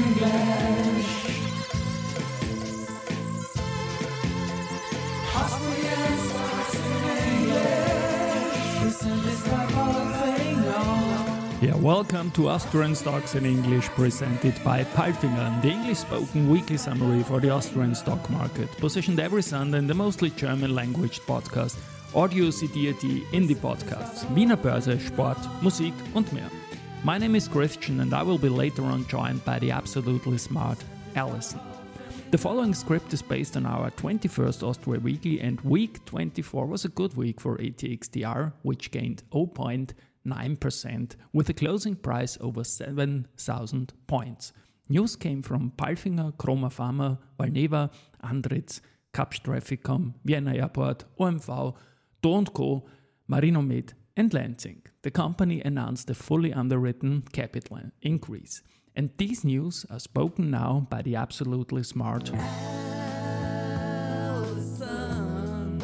English. Austrian Stocks in English. Presented by Palfinger. Yeah, welcome to Austrian Stocks in English, presented by Palfinger, the English-spoken weekly summary for the Austrian stock market, positioned every Sunday in the mostly German-language podcast Audio CDAT Indie Podcasts, Wiener Börse, Sport, Musik und mehr. My name is Christian and I will be later on joined by the absolutely smart Alison. The following script is based on our 21st Austria Weekly, and week 24 was a good week for ATXDR, which gained 0.9% with a closing price over 7,000 points. News came from Palfinger, Chroma Pharma, Valneva, Andritz, Kapsch Trafficom, Vienna Airport, OMV, Do & Co, Marinomed and Lansing. The company announced a fully underwritten capital increase. And these news are spoken now by the absolutely smart Alison.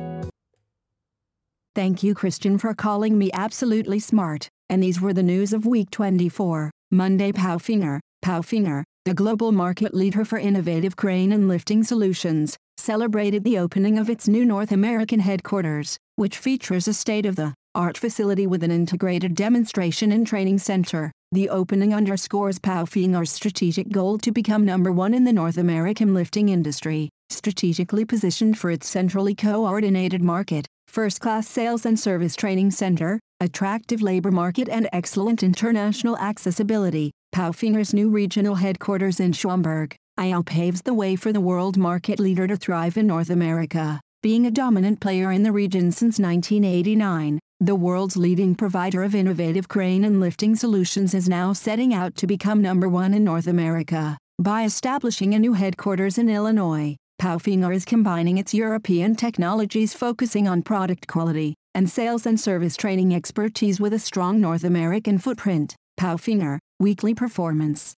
Thank you, Christian, for calling me absolutely smart. And these were the news of week 24. Monday. Palfinger, the global market leader for innovative crane and lifting solutions, celebrated the opening of its new North American headquarters, which features a state-of-the-art facility with an integrated demonstration and training center. The opening underscores Palfinger's strategic goal to become number one in the North American lifting industry, strategically positioned for its centrally coordinated market, first-class sales and service training center, attractive labor market and excellent international accessibility. Palfinger's new regional headquarters in Schaumburg, Iowa paves the way for the world market leader to thrive in North America. Being a dominant player in the region since 1989, the world's leading provider of innovative crane and lifting solutions is now setting out to become number one in North America. By establishing a new headquarters in Illinois, Palfinger is combining its European technologies, focusing on product quality and sales and service training expertise with a strong North American footprint. Palfinger, weekly performance,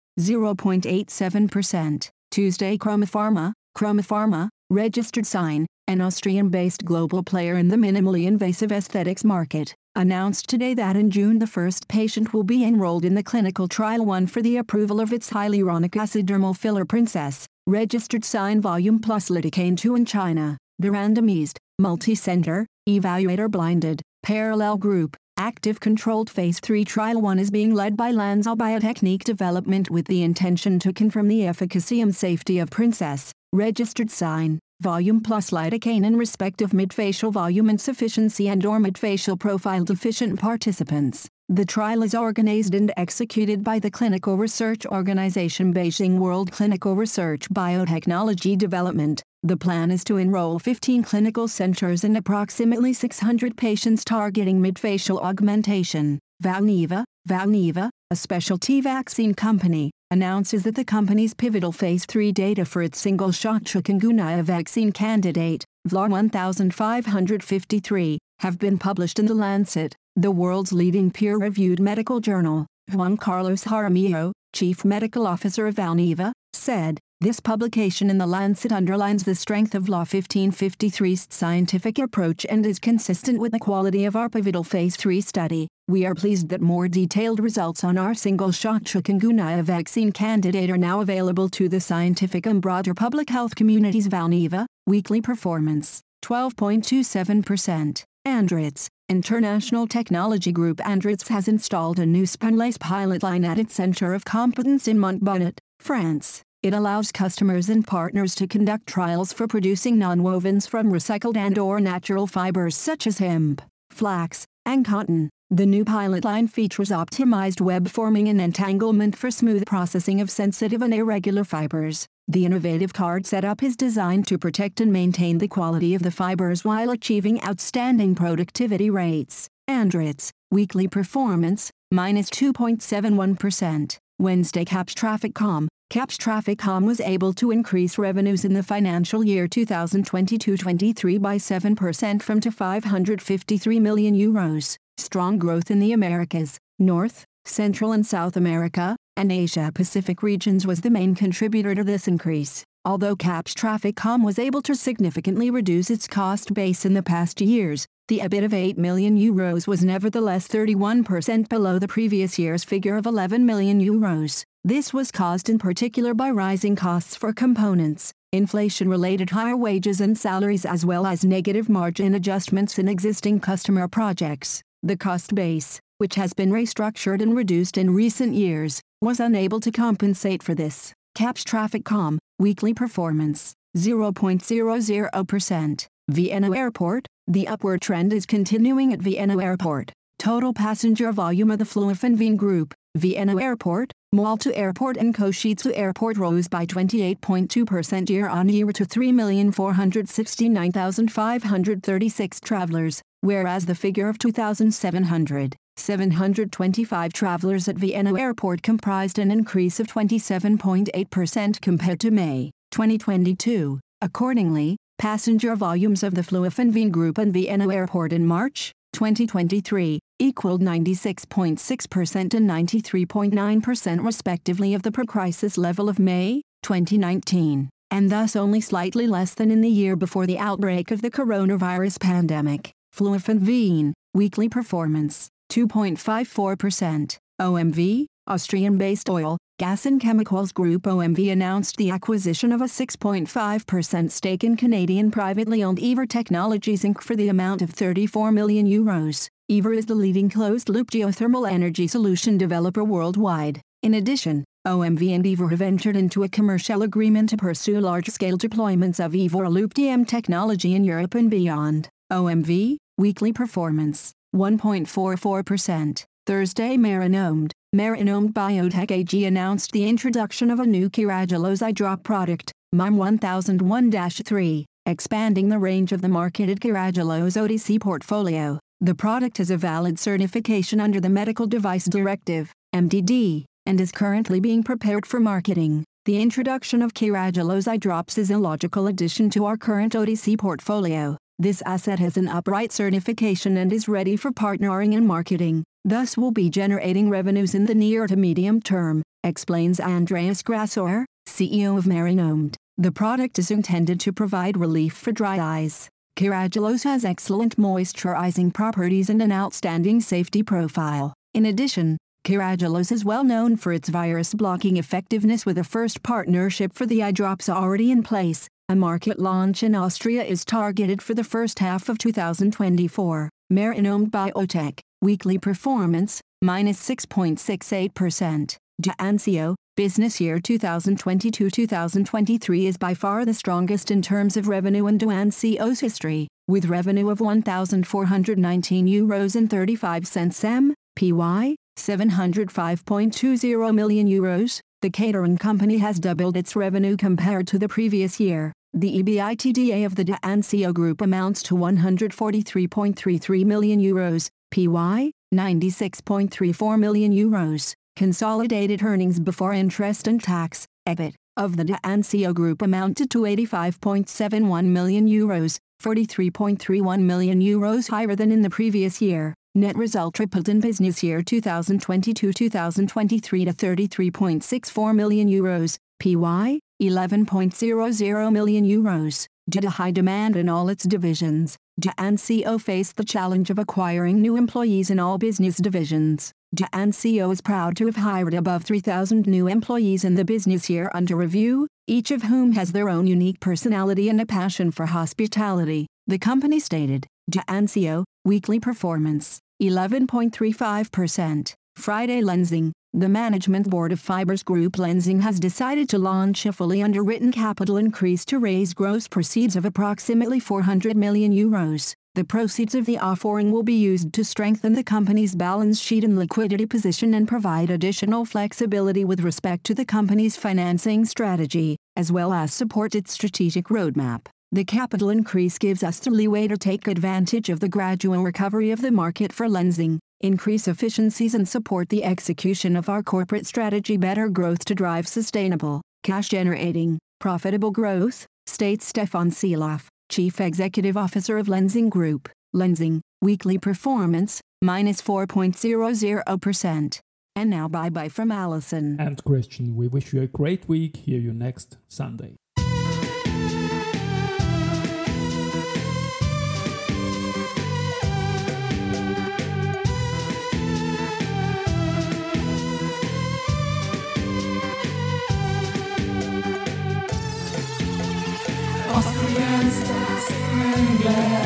0.87%. Tuesday. Chroma Pharma, registered sign, an Austrian-based global player in the minimally invasive aesthetics market, announced today that in June the first patient will be enrolled in the clinical trial 1 for the approval of its hyaluronic acid dermal filler Princess, registered sign volume plus lidocaine 2 in China. The randomized, multi-center, evaluator blinded, parallel group, active controlled phase 3 trial 1 is being led by Lanzhou Biotechnique Development with the intention to confirm the efficacy and safety of Princess, registered sign, volume plus lidocaine in respect of midfacial volume insufficiency and/or midfacial profile deficient participants. The trial is organized and executed by the clinical research organization Beijing World Clinical Research Biotechnology Development. The plan is to enroll 15 clinical centers and approximately 600 patients targeting midfacial augmentation. Valneva, a specialty vaccine company, announces that the company's pivotal phase 3 data for its single-shot chikungunya vaccine candidate, VLAR 1553, have been published in The Lancet, the world's leading peer-reviewed medical journal. Juan Carlos Jaramillo, chief medical officer of Valneva, said, "This publication in The Lancet underlines the strength of VLAR 1553's scientific approach and is consistent with the quality of our pivotal phase 3 study. We are pleased that more detailed results on our single-shot chikungunya vaccine candidate are now available to the scientific and broader public health communities." Valneva, weekly performance, 12.27%. Andritz, international technology group. Andritz has installed a new spunlace pilot line at its center of competence in Montbonnet, France. It allows customers and partners to conduct trials for producing nonwovens from recycled and/or natural fibers such as hemp, flax, and cotton. The new pilot line features optimized web forming and entanglement for smooth processing of sensitive and irregular fibers. The innovative card setup is designed to protect and maintain the quality of the fibers while achieving outstanding productivity rates. Andritz, weekly performance, minus 2.71%. Wednesday. Kapsch Trafficom was able to increase revenues in the financial year 2022-23 by 7% from to €553 million. Strong growth in the Americas, North, Central and South America, and Asia-Pacific regions was the main contributor to this increase. Although Kapsch Trafficom was able to significantly reduce its cost base in the past years, The EBIT of €8 million was nevertheless 31% below the previous year's figure of €11 million. This was caused in particular by rising costs for components, inflation-related higher wages and salaries, as well as negative margin adjustments in existing customer projects. The cost base, which has been restructured and reduced in recent years, was unable to compensate for this. CAPS Traffic.com, weekly performance, 0.00%. Vienna Airport, the upward trend is continuing at Vienna Airport. Total passenger volume of the Fluofen Group, Vienna Airport, Malta Airport and Košice Airport rose by 28.2% year-on-year to 3,469,536 travelers, whereas the figure of 2,725 travelers at Vienna Airport comprised an increase of 27.8% compared to May 2022. Accordingly, passenger volumes of the Fluofen Group and Vienna Airport in March 2023 equaled 96.6% and 93.9% respectively of the pre-crisis level of May 2019, and thus only slightly less than in the year before the outbreak of the coronavirus pandemic. Fluofen weekly performance, 2.54%. OMV, Austrian-based oil, gas and chemicals group OMV announced the acquisition of a 6.5% stake in Canadian privately owned Ever Technologies Inc. for the amount of €34 million. Ever is the leading closed-loop geothermal energy solution developer worldwide. In addition, OMV and Ever have entered into a commercial agreement to pursue large-scale deployments of Ever Loop DM technology in Europe and beyond. OMV, weekly performance, 1.44%. Thursday, Marinomed Biotech AG announced the introduction of a new Carragelose eye drop product, MIME 1001-3, expanding the range of the marketed Carragelose OTC portfolio. The product has a valid certification under the Medical Device Directive, MDD, and is currently being prepared for marketing. The introduction of Carragelose eye drops is a logical addition to our current OTC portfolio. This asset has an upright certification and is ready for partnering and marketing, thus will be generating revenues in the near to medium term, explains Andreas Grassauer, CEO of Marinomed. The product is intended to provide relief for dry eyes. Carragelose has excellent moisturizing properties and an outstanding safety profile. In addition, Carragelose is well known for its virus-blocking effectiveness, with a first partnership for the eye drops already in place. A market launch in Austria is targeted for the first half of 2024. Marinomed Biotech, weekly performance, -6.68%. De Ancio, business year 2022-2023 is by far the strongest in terms of revenue in De Ancio's history, with revenue of €1,419.35 m, PY, €705.20 million. The catering company has doubled its revenue compared to the previous year. The EBITDA of the De Ancio Group amounts to €143.33 million, PY, €96.34 million. Consolidated earnings before interest and tax, EBIT, of the De Ancio Group amounted to €85.71 million, €43.31 million higher than in the previous year. Net result tripled in business year 2022-2023 to €33.64 million, PY, €11.00 million. Due to high demand in all its divisions, De Ancio faced the challenge of acquiring new employees in all business divisions. De Ancio is proud to have hired above 3,000 new employees in the business year under review, each of whom has their own unique personality and a passion for hospitality, the company stated. De Ancio, weekly performance, 11.35%. Friday Lenzing, the management board of Fibers Group Lenzing has decided to launch a fully underwritten capital increase to raise gross proceeds of approximately €400 million. The proceeds of the offering will be used to strengthen the company's balance sheet and liquidity position and provide additional flexibility with respect to the company's financing strategy, as well as support its strategic roadmap. The capital increase gives us the leeway to take advantage of the gradual recovery of the market for Lenzing, increase efficiencies and support the execution of our corporate strategy Better Growth to drive sustainable, cash-generating, profitable growth, states Stefan Seeloff, Chief Executive Officer of Lenzing Group. Lenzing, weekly performance, -4.00%. And now bye-bye from Alison and Christian. We wish you a great week. Hear you next Sunday. Austrian stocks in English.